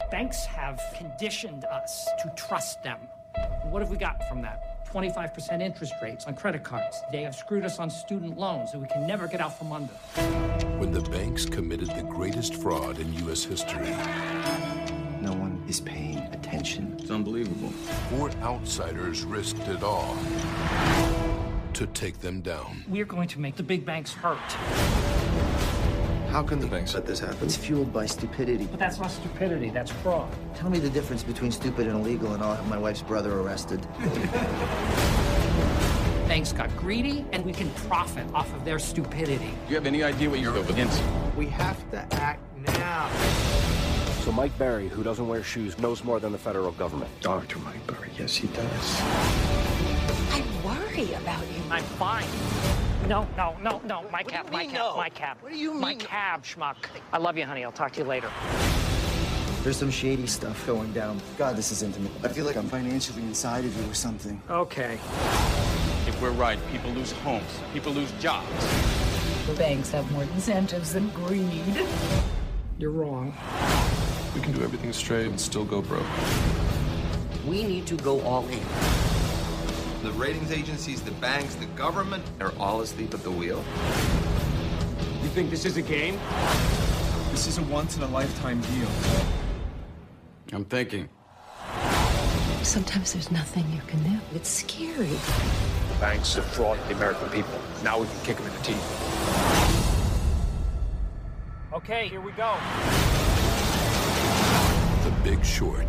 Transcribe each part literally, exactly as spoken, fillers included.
Banks have conditioned us to trust them. What have we got from that? twenty-five percent interest rates on credit cards. They have screwed us on student loans that we can never get out from under. When the banks committed the greatest fraud in U S history, no one is paying attention. It's unbelievable. Four outsiders risked it all to take them down. We're going to make the big banks hurt. How can the banks let this happen? It's fueled by stupidity. But that's not stupidity, that's fraud. Tell me the difference between stupid and illegal, and I'll have my wife's brother arrested. Banks got greedy, and we can profit off of their stupidity. Do you have any idea what you're up against? We have to act now. So Mike Berry, who doesn't wear shoes, knows more than the federal government. Doctor Mike Berry, yes he does. I worry about you. I'm fine. No, no, no, no. My cab, my cab, no? my cab. What do you mean? My cab, schmuck. I love you, honey. I'll talk to you later. There's some shady stuff going down. God, this is intimate. I feel like I'm financially inside of you or something. Okay. If we're right, people lose homes, people lose jobs. The banks have more incentives than greed. You're wrong. We can do everything straight and still go broke. We need to go all in. The ratings agencies, the banks, the government are all asleep at the wheel. You think this is a game? This is a once-in-a-lifetime deal. I'm thinking. Sometimes there's nothing you can do. It's scary. The banks defraud the American people. Now we can kick them in the teeth. Okay, here we go. The Big Short.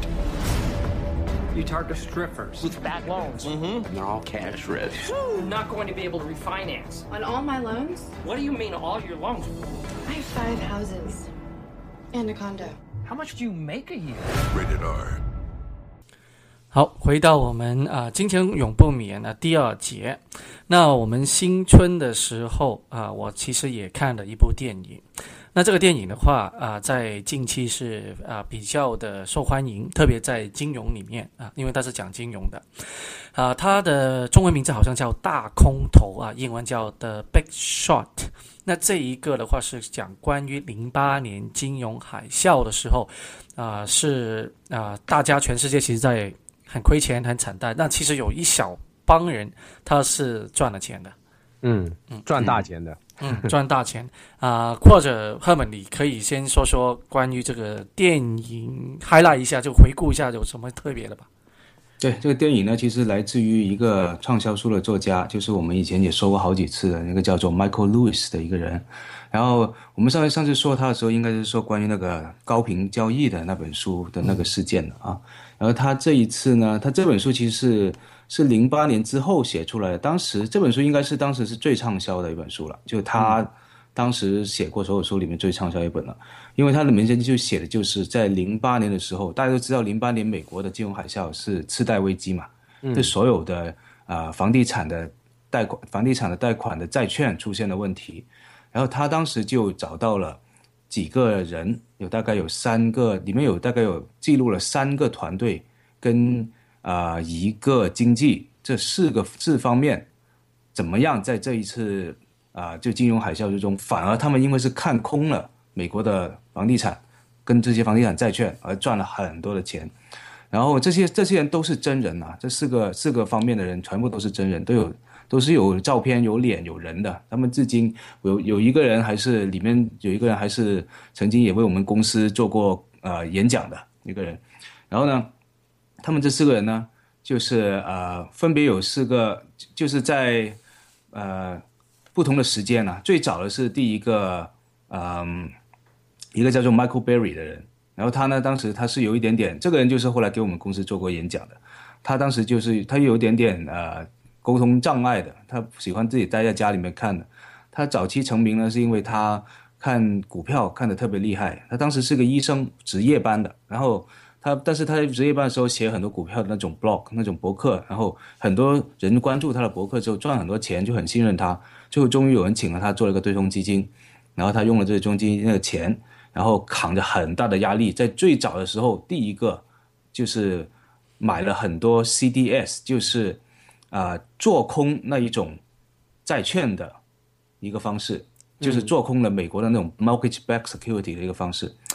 You target strippers with bad loans. Mm-hmm. And they're all cash rich. You're not going to be able to refinance. On all my loans? What do you mean all your loans? I have five houses and a condo. How much do you make a year? Rated R. 好，回到我们啊、呃，金钱永不眠的第二节。那我们新春的时候啊、呃，我其实也看了一部电影。那这个电影的话啊、呃，在近期是啊、呃、比较的受欢迎，特别在金融里面啊、呃，因为它是讲金融的啊、呃，它的中文名字好像叫大空头啊，英文叫 The Big Short。那这一个的话是讲关于零八年金融海啸的时候啊、呃，是啊、呃，大家全世界其实在很亏钱很惨淡，那其实有一小帮人他是赚了钱的。 嗯嗯，赚大钱的。 嗯，赚大钱啊、呃！或者赫本，你可以先说说关于这个电影 highlight 一下，就回顾一下有什么特别的吧。 对，这个电影呢，其实来自于一个畅销书的作家，就是我们以前也说过好几次的那个叫做 Michael Lewis 的一个人。然后我们上次上次说他的时候，应该是说关于那个高频交易的那本书的那个事件的啊。然后他这一次呢，他这本书其实是是零八年之后写出来的，当时这本书应该是当时是最畅销的一本书了，就他当时写过所有书里面最畅销一本了，因为他的名字就写的就是在零八年的时候，大家都知道零八年美国的金融海啸是次贷危机嘛，嗯、就所有的呃房地产的贷款、房地产的贷款的债券出现了问题，然后他当时就找到了几个人，有大概有三个，里面有大概有记录了三个团队跟啊、呃、一个经济这四个四方面怎么样在这一次啊、呃、就金融海啸之中，反而他们因为是看空了美国的房地产跟这些房地产债券而赚了很多的钱。然后这些这些人都是真人啊，这四个四个方面的人全部都是真人，都有都是有照片、有脸、有人的。他们至今有有一个人还是里面有一个人还是曾经也为我们公司做过呃演讲的一个人。然后呢，他们这四个人呢，就是呃分别有四个，就是在呃不同的时间啊。最早的是第一个嗯、呃、一个叫做 Michael Berry 的人。然后他呢，当时他是有一点点，这个人就是后来给我们公司做过演讲的。他当时就是他有一点点呃沟通障碍的，他喜欢自己待在家里面看的。他早期成名呢，是因为他看股票看得特别厉害。他当时是个医生，值夜班的。然后他，但是他在值夜班的时候写很多股票的那种 blog 那种博客，然后很多人关注他的博客之后赚很多钱，就很信任他。最后终于有人请了他做了一个对冲基金，然后他用了这个对冲基金那个钱。然后扛着很大的压力，在最早的时候，第一个就是买了很多 C D S， 就是啊、呃、做空那一种债券的一个方式，就是做空了美国的那种 mortgage-backed security 的一个方式。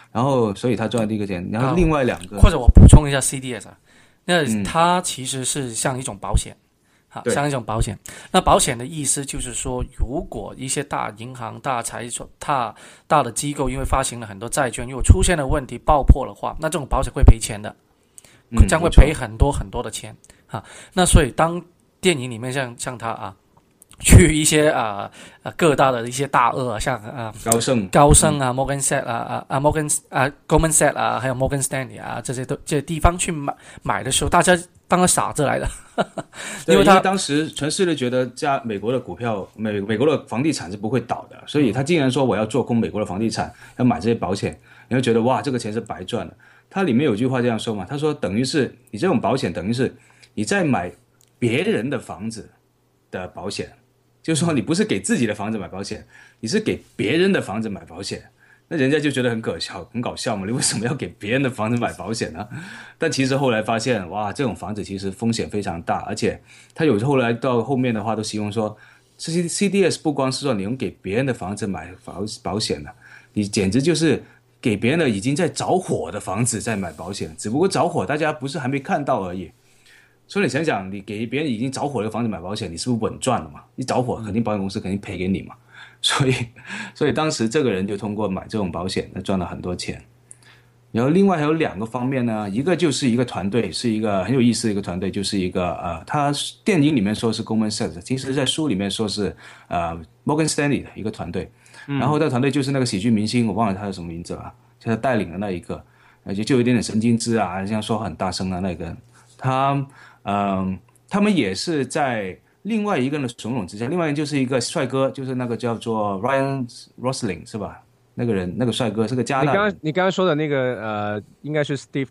然后所以他赚了第一个钱，然后另外两个、 啊、或者我补充一下 C D S 啊，那它其实是像一种保险。好，像一种保险。那保险的意思就是说，如果一些大银行、大财所、大大的机构因为发行了很多债券，如果出现了问题爆破的话，那这种保险会赔钱的，将会赔很多很多的钱。啊，那所以当电影里面像像他啊，去一些啊啊各大的一些大鳄，像啊高盛、 高盛啊、Morgan Stanley 啊啊啊 Morgan 啊 Goldman Sachs 啊，还有 Morgan Stanley 啊这些都这些地方去买买的时候，大家当个傻子来的。 因为他当时全世界觉得加美国的股票美美国的房地产是不会倒的，所以他竟然说我要做空美国的房地产，要买这些保险，你会觉得哇这个钱是白赚的。他里面有句话这样说嘛，他说等于是你这种保险等于是你在买别人的房子的保险，就是说你不是给自己的房子买保险，你是给别人的房子买保险。那人家就觉得很可笑，很搞笑嘛，你为什么要给别人的房子买保险呢？但其实后来发现，哇，这种房子其实风险非常大，而且他有后来到后面的话都希望说 C D S 不光是说你用给别人的房子买保保险了，你简直就是给别人的已经在着火的房子在买保险，只不过着火大家不是还没看到而已。所以你想想，你给别人已经着火的房子买保险，你是不是稳赚了嘛？一着火肯定保险公司肯定赔给你嘛。所以，所以当时这个人就通过买这种保险，他赚了很多钱。然后另外还有两个方面呢，一个就是一个团队，是一个很有意思的一个团队，就是一个呃，他电影里面说是 Goldman Sachs， 其实在书里面说是呃 Morgan Stanley 的一个团队。然后这个团队就是那个喜剧明星，我忘了他叫什么名字了，就他带领的那一个，而且就有一点点神经质啊，这样说很大声的那个，他嗯、呃，他们也是在。另外一个人的怂恿之下，另外一个就是一个帅哥，就是那个叫做 Ryan Gosling 是吧？那个人，那个帅哥是个加拿大人。 你刚刚你刚刚说的那个呃，应该是 Steve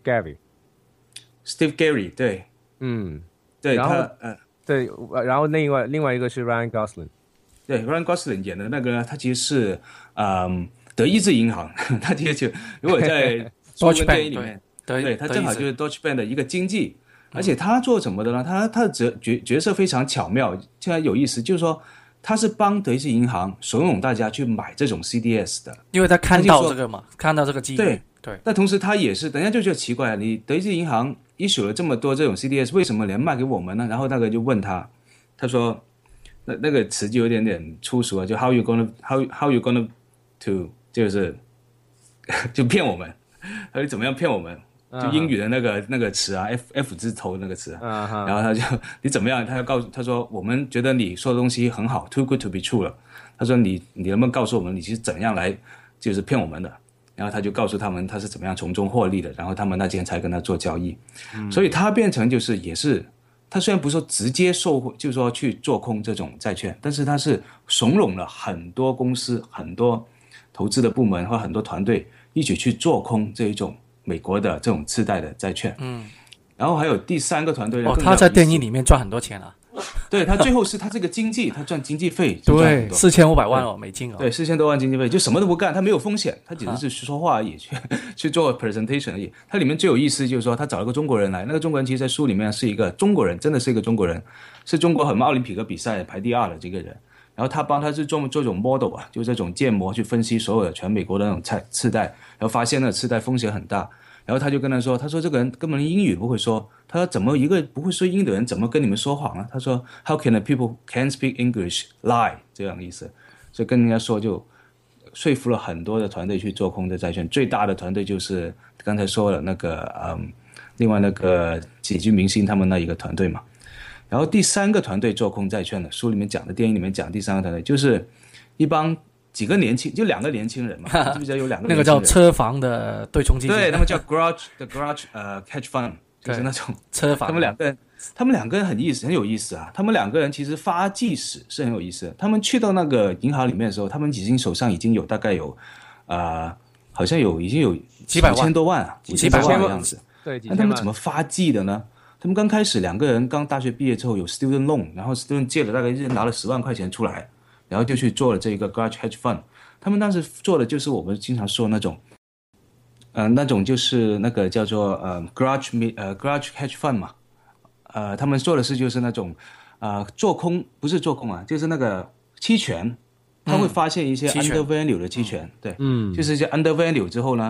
Gary。Steve Gary 对， 嗯， 对， 然后他呃对，然后另外另外一个是 Ryan Gosling。 对 ，Ryan Gosling 演的那个，他其实是嗯德意志银行，他其实就如果在中文电影里面，对, 对他正好就是 Deutsche Bank 的一个经纪。而且他做什么的呢？他他的角角色非常巧妙，现在有意思，就是说他是帮德意志银行怂恿大家去买这种 C D S 的， 因为他看到这个嘛，看到这个机会。 对对。 但同时他也是，等一下就觉得奇怪，你德意志银行issue了这么多这种 C D S， 为什么连卖给我们呢？然后那个就问他，他说那那个词就有点点粗俗啊，就 how you gonna how how you gonna to 就是就骗我们，他说怎么样骗我们？就英语的那个、uh-huh. 那个词啊 ，F F 字头那个词、啊 uh-huh. 然后他就你怎么样？他就告诉他说，我们觉得你说的东西很好 ，too good to be true 了。他说你你能不能告诉我们你是怎样来就是骗我们的？然后他就告诉他们他是怎么样从中获利的，然后他们那天才跟他做交易。嗯、所以他变成就是也是他虽然不是说直接受就是说去做空这种债券，但是他是怂恿了很多公司、很多投资的部门和很多团队一起去做空这一种。美国的这种次贷的债券，嗯，然后还有第三个团队呢， 哦，他在电影里面赚很多钱啊， 对他最后是他这个经济，他赚经济费， 对，四千五百万哦美金哦， 对，四千多万经济费，就什么都不干，他没有风险，他只是去说话而已，去去做 presentation 而已。他里面最有意思就是说，他找了个中国人来，那个中国人其实在书里面是一个中国人，真的是一个中国人，是中国很奥林匹克比赛排第二的这个人。然后他帮他是做做这种 model 啊，就这种建模去分析所有的全美国的那种次贷，然后发现那次贷风险很大。然后他就跟他说，他说这个人根本连英语不会说，他说怎么一个不会说英语的人怎么跟你们说谎呢？他说 How can the people can speak English lie 这样的意思，所以跟人家说就说服了很多的团队去做空的债券，最大的团队就是刚才说了那个嗯，另外那个喜剧明星他们那一个团队嘛。然后第三个团队做空债券的，书里面讲的，电影里面讲第三个团队就是一帮几个年轻，就两个年轻人嘛，记不记得有两个年轻人？ 那个叫车房的对冲基金， 对，他们叫 garage 的 garage 呃 hedge fund， 就是那种车房。 他们两个人，他们两个人很意思，很有意思啊。他们两个人其实发迹史是很有意思的。他们去到那个银行里面的时候，他们已经手上已经有大概有呃，好像有已经有几百万、 五千多万啊，五千多万的样子。 对， 那他们怎么发迹的呢？他们刚开始两个人刚大学毕业之后有 student loan， 然后 student 借了大概一人拿了十万块钱出来，然后就去做了这个 garage hedge fund。他们当时做的就是我们经常说那种，呃，那种就是那个叫做呃 garage 呃 garage hedge fund 嘛，呃，他们做的是就是那种呃做空，不是做空啊，就是那个期权，他会发现一些 under value 的期权，嗯、对，嗯，就是一些 under value 之后呢，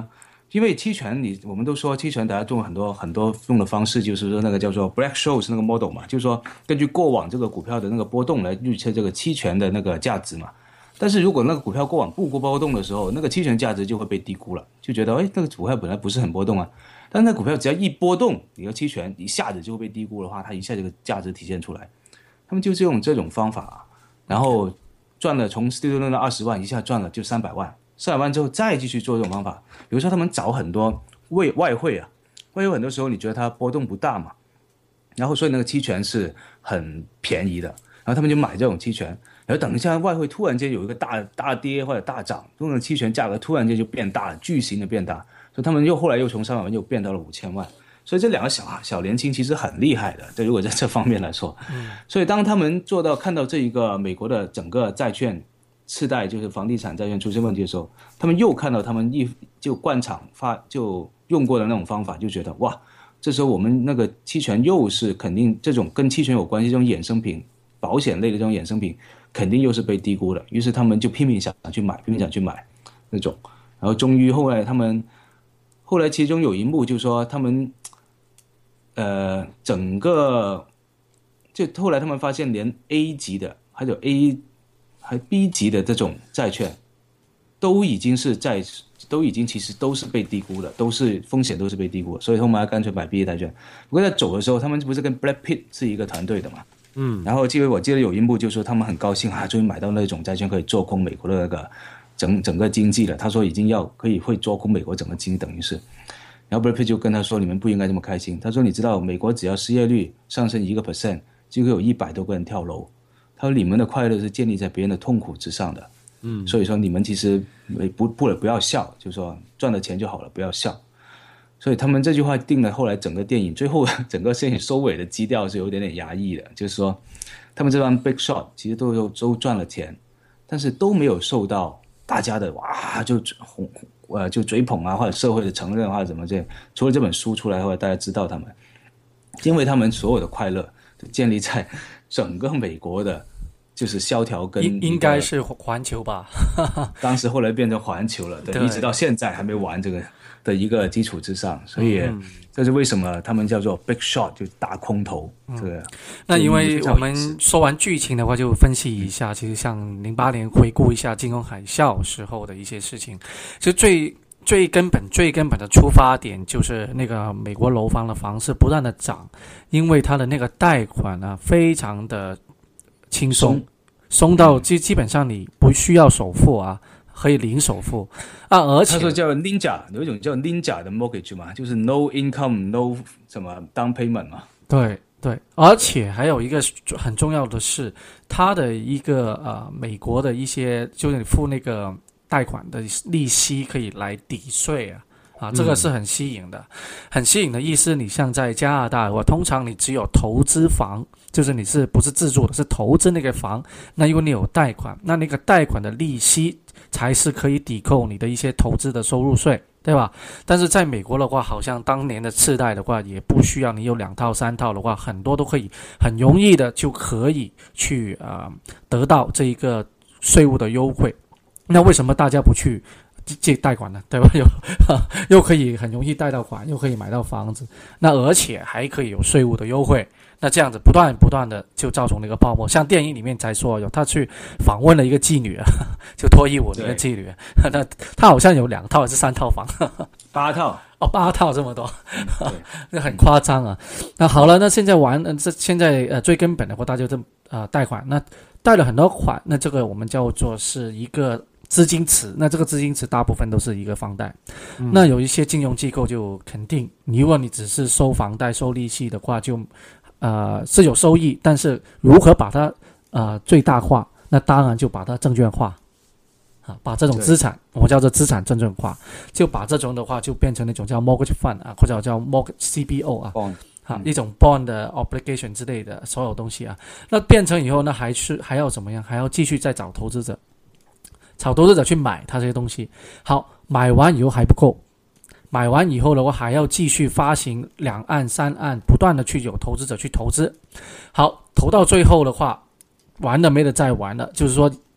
因为期权你我们都说期权大家用很多很多用的方式，就是说那个叫做 Black-Scholes 那个 model 嘛，就是说根据过往这个股票的那个波动来预测这个期权的那个价值嘛。但是如果那个股票过往不波动的时候，那个期权价值就会被低估了，就觉得哎，那个股票本来不是很波动啊，但是那股票只要一波动，你的期权一下子就会被低估的话，它一下这个价值体现出来。他们就是用这种方法，然后赚了从第六轮的二十万一下赚了就三百万。三百万之后再继续做这种方法，比如说他们找很多外外汇啊，外汇很多时候你觉得它波动不大嘛，然后所以那个期权是很便宜的，然后他们就买这种期权，然后等一下外汇突然间有一个大大跌或者大涨，这种期权价格突然间就变大了，巨型的变大，所以他们又后来又从三百万又变到了五千万，所以这两个小小年轻其实很厉害的，对，如果在这方面来说，嗯，所以当他们做到看到这一个美国的整个债券次贷就是房地产债券出现问题的时候，他们又看到他们一就惯常发就用过的那种方法，就觉得哇，这时候我们那个期权又是肯定这种跟期权有关系这种衍生品，保险类的这种衍生品肯定又是被低估的，于是他们就拼命想去买，拼命想去买那种，然后终于后来他们后来其中有一幕就是说他们呃整个就后来他们发现连 A 级的还有 A还 B 级的这种债券都已经是在都已经其实都是被低估的，都是风险都是被低估的，所以他们还干脆买 B 级债券。不过在走的时候他们不是跟 Brad Pitt 是一个团队的嘛，嗯，然后记得我记得有一幕就是说他们很高兴啊，终于买到那种债券可以做空美国的那个整整个经济了，他说已经要可以会做空美国整个经济等于是，然后 Brad Pitt 就跟他说你们不应该这么开心，他说你知道美国只要失业率上升一个 percent 就会有一百多个人跳楼，他说你们的快乐是建立在别人的痛苦之上的，嗯，所以说你们其实不不不要笑，就是说赚了钱就好了，不要笑。所以他们这句话定了后来整个电影最后整个电影收尾的基调是有一点点压抑的，就是说他们这帮 big shot 其实都都赚了钱，但是都没有受到大家的哇就红呃就追捧啊，或者社会的承认或者怎么这，除了这本书出来后来大家知道他们，因为他们所有的快乐都建立在整个美国的就是萧条跟应应该是环球吧当时后来变成环球了， 对, 对，一直到现在还没完这个的一个基础之上，所以这是为什么他们叫做 big shot 就大空头，嗯，这个那因为我们说完剧情的话就分析一下，其实像零八年回顾一下金融海啸时候的一些事情，其实最最根本最根本的出发点就是那个美国楼房的房市不断的涨，因为它的那个贷款啊非常的轻松，松到基基本上你不需要首付啊，可以零首付啊，而且他说叫 Ninja， 有一种叫 Ninja 的 mortgage 嘛，就是 no income no 什么 down payment 嘛。 对对，而且还有一个很重要的是，它的一个呃美国的一些就是你付那个贷款的利息可以来抵税啊。啊，这个是很吸引的，嗯，很吸引的意思。你像在加拿大的话，通常你只有投资房，就是你是不是自住的，是投资那个房，那如果你有贷款，那那个贷款的利息才是可以抵扣你的一些投资的收入税，对吧？但是在美国的话，好像当年的次贷的话，也不需要你有两套三套的话，很多都可以很容易的就可以去啊，呃、得到这一个税务的优惠。那为什么大家不去借贷款呢？对吧？又又可以很容易贷到款，又可以买到房子，那而且还可以有税务的优惠。那这样子不断不断的就造成了一个泡沫。像电影里面才说有他去访问了一个妓女，就脱衣舞的一个妓女，那他好像有两套还是三套房， 八套哦，八套这么多，那很夸张啊。那好了，那现在玩，这现在呃最根本的话，大家就呃贷款，那贷了很多款，那这个我们叫做是一个资金池，那这个资金池大部分都是一个房贷，嗯，那有一些金融机构就肯定，如果你只是收房贷收利息的话，就呃是有收益，但是如何把它呃最大化，那当然就把它证券化啊，把这种资产我们叫做资产证券化，就把这种的话就变成那种叫 mortgage fund 啊，或者叫 mortgage C B O 啊， bond， 啊，一种 bond 的 obligation 之类的所有东西啊，那变成以后呢，还是还要怎么样？还要继续再找投资者。找投资者去买它这些东西，好，买完以后还不够，买完以后的话还要继续发行两岸三岸，不断的去有投资者去投资，好，投到最后的话，玩了没得再玩了，就是说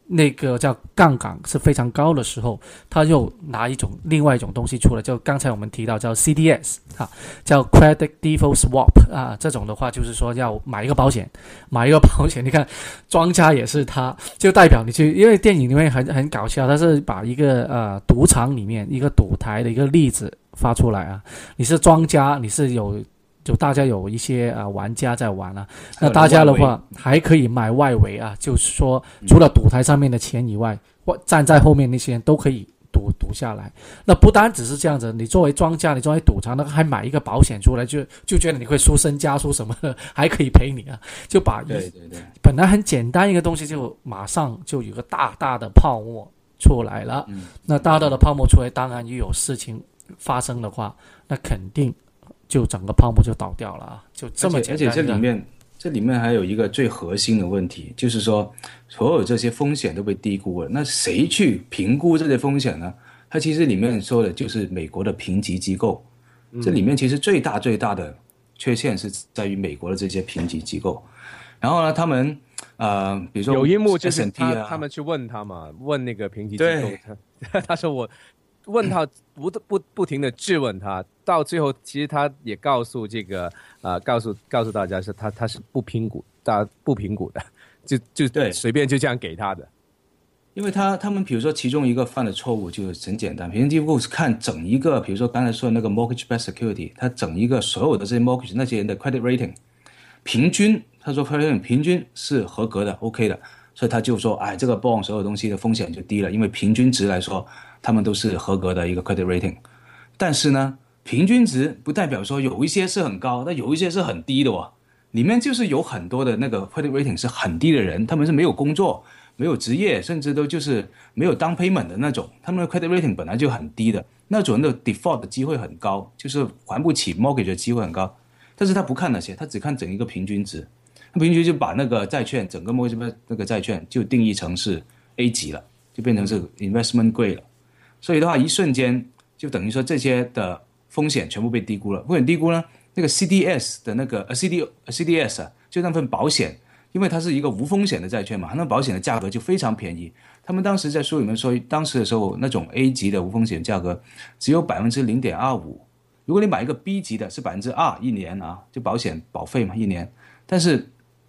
那个叫杠杆是非常高的时候，他又拿一种另外一种东西出来，就刚才我们提到叫 C D S 啊，叫 Credit Default Swap 啊，这种的话就是说要买一个保险，买一个保险，你看庄家也是他，就代表你去，因为电影里面很很搞笑，他是把一个呃赌场里面一个赌台的一个例子发出来啊，你是庄家，你是有。就大家有一些啊、呃、玩家在玩啊，那大家的话还可以买外围啊，就是说除了赌台上面的钱以外，或、嗯、站在后面那些人都可以赌赌下来。那不单只是这样子，你作为庄家，你作为赌场，那还买一个保险出来，就就觉得你会输身家输什么的，还可以赔你啊，就把对对对， 本来很简单一个东西，就马上就有个大大的泡沫出来了。嗯、那大大的泡沫出来，当然又有事情发生的话，那肯定。就整个泡沫就倒掉了啊！就这么简单。 而且这里面，这里面还有一个最核心的问题，就是说，所有这些风险都被低估了。那谁去评估这些风险呢？它其实里面说的就是美国的评级机构。嗯、这里面其实最大最大的缺陷是在于美国的这些评级机构。然后呢，他们呃，比如说有一幕就是他、 啊、 他们去问他嘛，问那个评级机构，他, 他说我。问他不不不停的质问他，到最后其实他也告诉这个呃告诉告诉大家是他他是不评估，大不评估的，就就对随便就这样给他的。 因为他他们比如说其中一个犯的错误就很简单，评级机构是看整一个，比如说刚才说的那个 mortgage-backed security， 他整一个所有的这些 mortgage 那些人的 credit rating 平均，他说 credit rating 平均是合格的 OK 的，所以他就说哎这个 bond 所有东西的风险就低了，因为平均值来说他们都是合格的一个 credit rating。 但是呢平均值不代表说有一些是很高，但有一些是很低的哦，里面就是有很多的那个 credit rating 是很低的人，他们是没有工作没有职业，甚至都就是没有down payment的那种，他们的 credit rating 本来就很低的，那种人的 default 的机会很高，就是还不起 mortgage 的机会很高，但是他不看那些，他只看整一个平均值，他平均就把那个债券整个 mortgage 那个债券就定义成是 A 级了，就变成是 investment grade 了，所以的话一瞬间就等于说这些的风险全部被低估了。风险低估呢，那个 C D S 的那个 C D C D S 啊，就那份保险，因为它是一个无风险的债券嘛，那保险的价格就非常便宜。他们当时在书里面说，当时的时候那种 A 级的无风险价格只有 百分之零点二五， 如果你买一个 B 级的是 百分之二 一年啊，就保险保费嘛一年，但是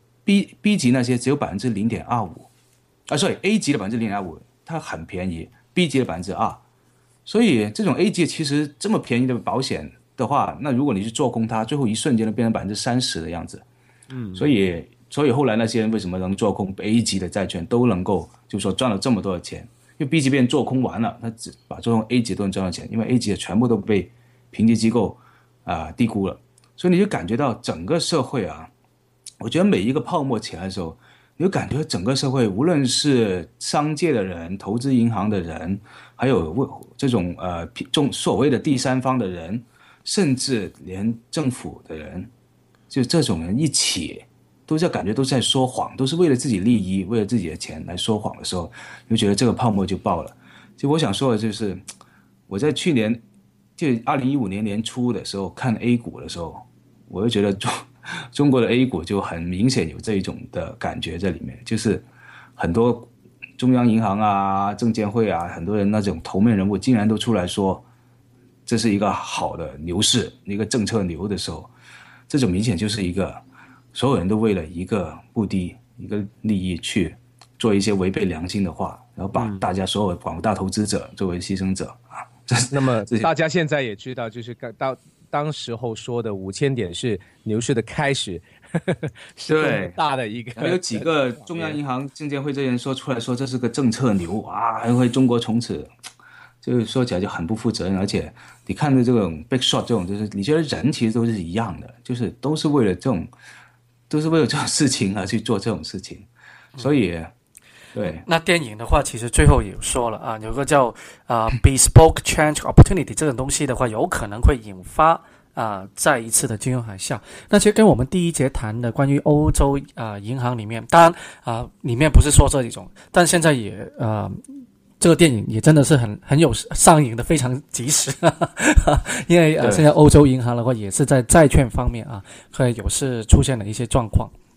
B, B 级那些只有 百分之零点二五 啊，所以 A 级的 百分之零点二五 它很便宜， B 级的 百分之二， 所以这种 A 级其实这么便宜的保险的话，那如果你去做空它，最后一瞬间就变成 百分之三十 的样子。嗯，所以所以后来那些人为什么能做空 A 级的债券都能够就是说赚了这么多的钱，因为 B 级被人做空完了，他只把做空 A 级都能赚到钱，因为 A 级的全部都被评级机构啊、呃、低估了。所以你就感觉到整个社会啊，我觉得每一个泡沫起来的时候，你就感觉整个社会无论是商界的人、投资银行的人，还有这种呃所谓的第三方的人，甚至连政府的人，就这种人一起都在感觉都在说谎，都是为了自己利益，为了自己的钱来说谎的时候，你就觉得这个泡沫就爆了。就我想说的就是，我在去年就二零一五年年初的时候看 A 股的时候，我就觉得中中国的 A 股就很明显有这一种的感觉在里面，就是很多中央银行啊、证监会啊，很多人那种头面人物竟然都出来说这是一个好的牛市，一个政策牛的时候，这种明显就是一个所有人都为了一个目的、一个利益去做一些违背良心的话，然后把大家所有广大投资者作为牺牲者啊。 那么大家现在也知道，就是到当时候说的五千点是牛市的开始，是很大的一个。 还有几个中央银行、证监会这些人说出来说这是个政策牛啊，还会中国从此。就是说起来就很不负责任，而且你看的这种 big shot 这种，就是你觉得人其实都是一样的，就是都是为了这种，都是为了这种事情而去做这种事情，所以，对。 那电影的话，其实最后也说了啊，有个叫啊、呃、bespoke change opportunity 这种东西的话，有可能会引发啊、呃、再一次的金融海啸。那其实跟我们第一节谈的关于欧洲啊、呃、银行里面，当然啊、呃、里面不是说这一种，但现在也呃。这个电影也真的是很很有上映的非常及时，呵呵因为呃现在欧洲银行的话也是在债券方面啊，会有是出现了一些状况。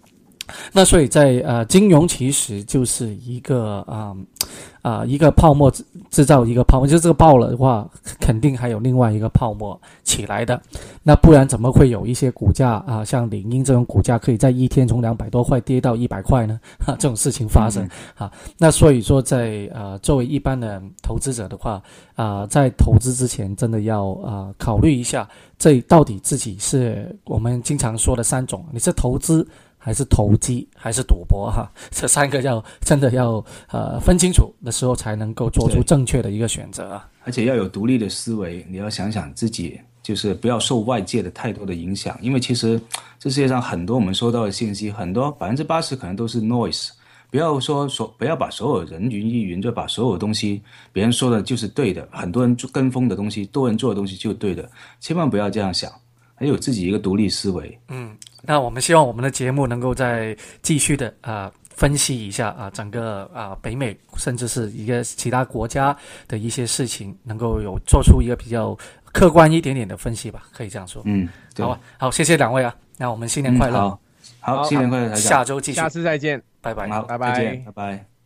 那所以在呃，金融其实就是一个啊啊、呃、一个泡沫制造一个泡沫，就这个爆了的话，肯定还有另外一个泡沫起来的。那不然怎么会有一些股价啊、呃，像领英这种股价可以在一天从两百多块跌到一百块呢？哈，这种事情发生、嗯、啊。那所以说在呃作为一般的投资者的话啊、呃，在投资之前真的要啊、呃、考虑一下，这到底自己是我们经常说的三种，你是投资还是投机还是赌博哈？这三个要真的要呃分清楚的时候，才能够做出正确的一个选择啊。 而且要有独立的思维，你要想想自己，就是不要受外界的太多的影响，因为其实这世界上很多我们收到的信息，很多百分之八十可能都是 noise。不要说说不要把所有人云亦云，就把所有东西别人说的就是对的，很多人跟风的东西，多人做的东西就是对的，千万不要这样想。还有自己一个独立思维。 嗯，那我们希望我们的节目能够再继续的啊、呃、分析一下啊、呃、整个啊、呃、北美甚至是一个其他国家的一些事情，能够有做出一个比较客观一点点的分析吧，可以这样说。 嗯， 好啊，好，谢谢两位啊，那我们新年快乐。 嗯、好，好，新年快乐， 下周继续， 下次再见， 拜拜， 好， 拜拜， 再见，拜拜。